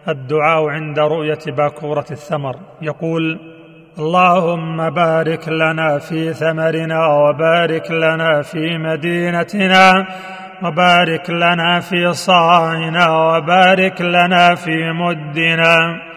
الدعاء عند رؤية باكورة الثمر، يقول: اللهم بارك لنا في ثمرنا، وبارك لنا في مدينتنا، وبارك لنا في صاعنا، وبارك لنا في مدنا.